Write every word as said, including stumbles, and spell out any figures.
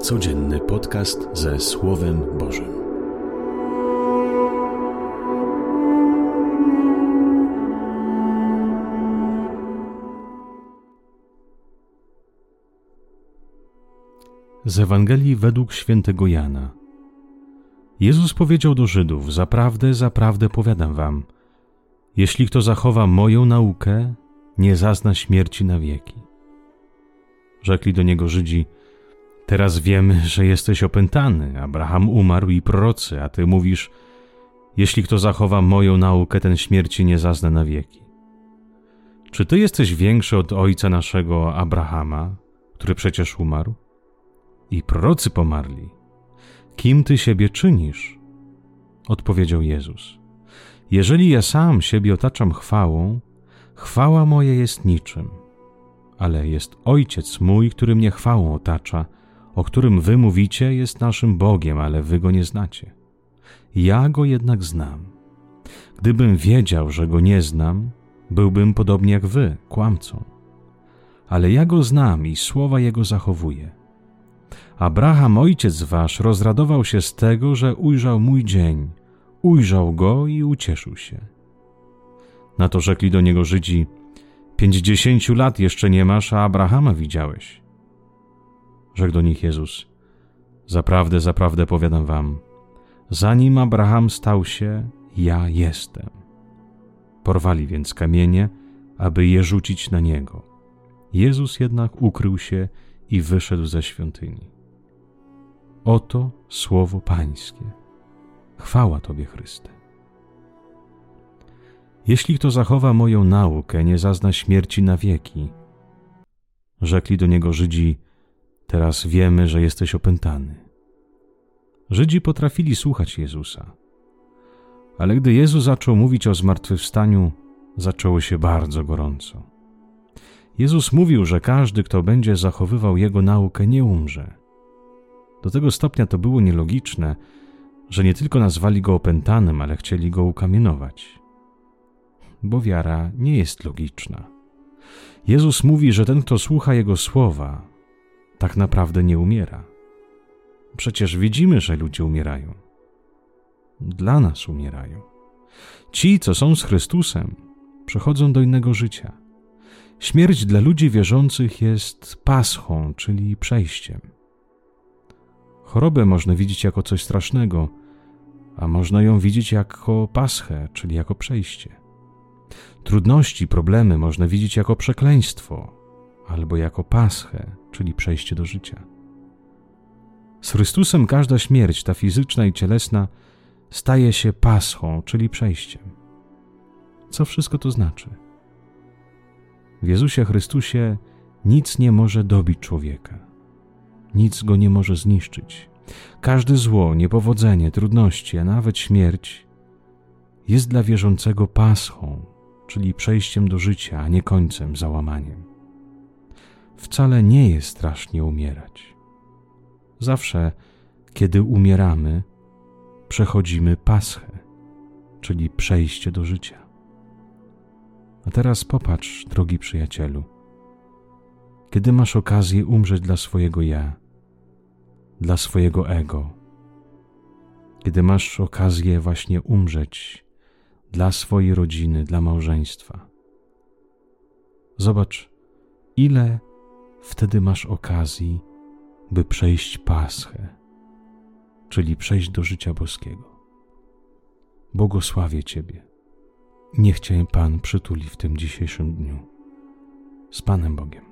Codzienny podcast ze Słowem Bożym. Z Ewangelii według świętego Jana. Jezus powiedział do Żydów: Zaprawdę, zaprawdę powiadam wam, jeśli kto zachowa moją naukę, nie zazna śmierci na wieki. Rzekli do niego Żydzi: Teraz wiemy, że jesteś opętany. Abraham umarł i prorocy, a ty mówisz: jeśli kto zachowa moją naukę, ten śmierci nie zazna na wieki. Czy ty jesteś większy od ojca naszego Abrahama, który przecież umarł? I prorocy pomarli. Kim ty siebie czynisz? Odpowiedział Jezus: Jeżeli ja sam siebie otaczam chwałą, chwała moja jest niczym, ale jest Ojciec mój, który mnie chwałą otacza, o którym wy mówicie, jest naszym Bogiem, ale wy go nie znacie. Ja go jednak znam. Gdybym wiedział, że go nie znam, byłbym podobnie jak wy, kłamcą. Ale ja go znam i słowa jego zachowuję. Abraham, ojciec wasz, rozradował się z tego, że ujrzał mój dzień, ujrzał go i ucieszył się. Na to rzekli do niego Żydzi: Pięćdziesięciu lat jeszcze nie masz, a Abrahama widziałeś. Rzekł do nich Jezus: Zaprawdę, zaprawdę powiadam wam, zanim Abraham stał się, ja jestem. Porwali więc kamienie, aby je rzucić na niego. Jezus jednak ukrył się i wyszedł ze świątyni. Oto słowo Pańskie. Chwała Tobie, Chryste. Jeśli kto zachowa moją naukę, nie zazna śmierci na wieki. Rzekli do niego Żydzi: Teraz wiemy, że jesteś opętany. Żydzi potrafili słuchać Jezusa. Ale gdy Jezus zaczął mówić o zmartwychwstaniu, zaczęło się bardzo gorąco. Jezus mówił, że każdy, kto będzie zachowywał Jego naukę, nie umrze. Do tego stopnia to było nielogiczne, że nie tylko nazwali Go opętanym, ale chcieli Go ukamienować. Bo wiara nie jest logiczna. Jezus mówi, że ten, kto słucha Jego słowa, tak naprawdę nie umiera. Przecież widzimy, że ludzie umierają. Dla nas umierają. Ci, co są z Chrystusem, przechodzą do innego życia. Śmierć dla ludzi wierzących jest paschą, czyli przejściem. Chorobę można widzieć jako coś strasznego, a można ją widzieć jako paschę, czyli jako przejście. Trudności, problemy można widzieć jako przekleństwo albo jako paschę, czyli przejście do życia. Z Chrystusem każda śmierć, ta fizyczna i cielesna, staje się paschą, czyli przejściem. Co wszystko to znaczy? W Jezusie Chrystusie nic nie może dobić człowieka. Nic go nie może zniszczyć. Każde zło, niepowodzenie, trudności, a nawet śmierć jest dla wierzącego paschą, czyli przejściem do życia, a nie końcem, załamaniem. Wcale nie jest strasznie umierać. Zawsze, kiedy umieramy, przechodzimy paschę, czyli przejście do życia. A teraz popatrz, drogi przyjacielu, kiedy masz okazję umrzeć dla swojego ja, dla swojego ego, kiedy masz okazję właśnie umrzeć dla swojej rodziny, dla małżeństwa. Zobacz, ile wtedy masz okazji, by przejść paschę, czyli przejść do życia boskiego. Błogosławię Ciebie. Niech Cię Pan przytuli w tym dzisiejszym dniu. Z Panem Bogiem.